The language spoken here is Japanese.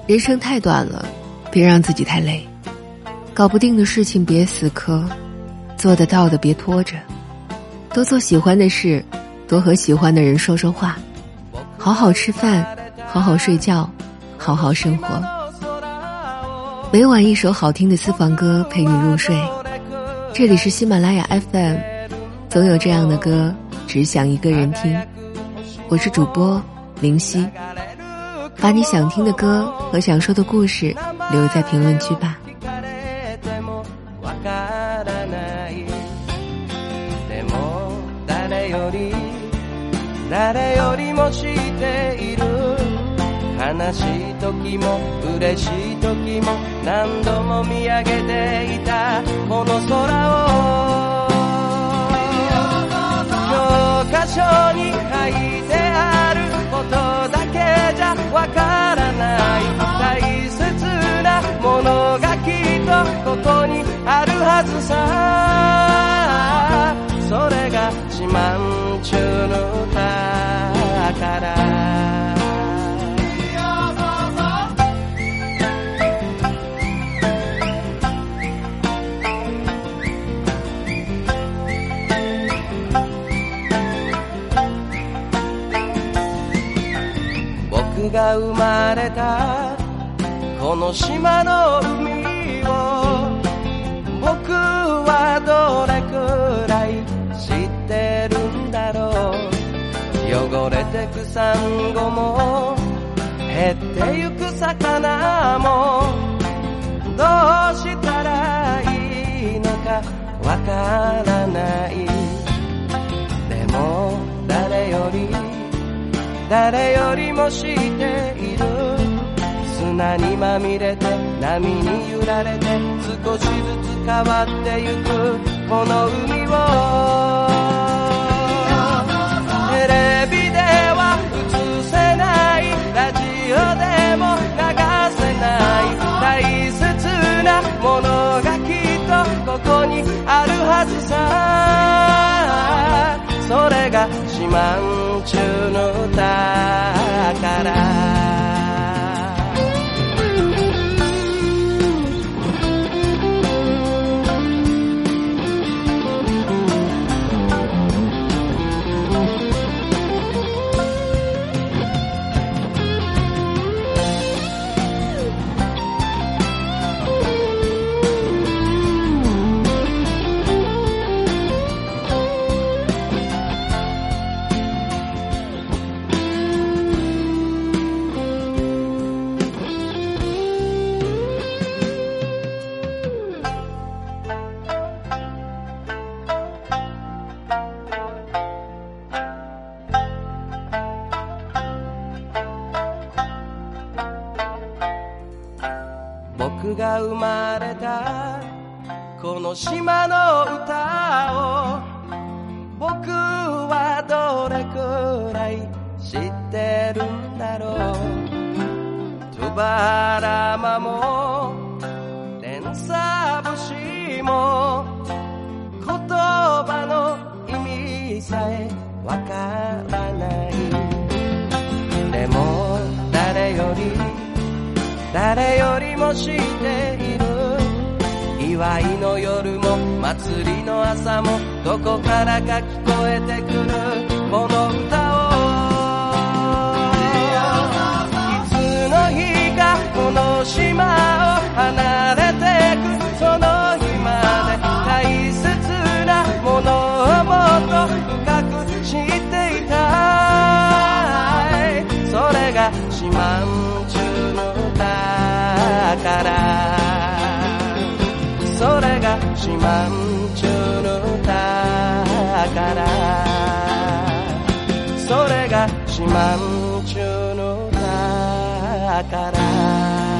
人生太短了，别让自己太累。搞不定的事情别死磕，做得到的别拖着。多做喜欢的事，多和喜欢的人说说话，好好吃饭，好好睡觉，好好生活。每晚一首好听的私房歌陪你入睡。这里是喜马拉雅 FM， 总有这样的歌，只想一个人听。我是主播灵犀，把你想听的歌和想说的故事留在评论区吧。 誰よりも知っている悲しい時も嬉しい時も何度も見上げていたこの空を教科書に書いてあることだけじゃわからない大切なものがきっとここにあるはずさそれが四万十の宝僕が生まれたこの島の海を僕はどれくらい知ってるんだろう汚れてくサンゴも減ってゆく魚もどうしたらいいのかわからないでも誰よりも知っている砂にまみれて波に揺られて少しずつ変わってゆくこの海をテレビでは映せないラジオでも流せない大切なものがきっとここにあるはずさそれが四万十の宝僕が生まれたこの島の歌を僕はどれくらい知ってるんだろうトゥバラマもレンサ節も言葉の意味さえわからないでも誰よりも知っている祝いの夜も祭りの朝もどこからか聞こえてくるこの歌をいつの日かこの島を離れてくその日まで大切なものをもっと深く知っていたいそれが四万十の宝それが四万十の宝それが四万十の宝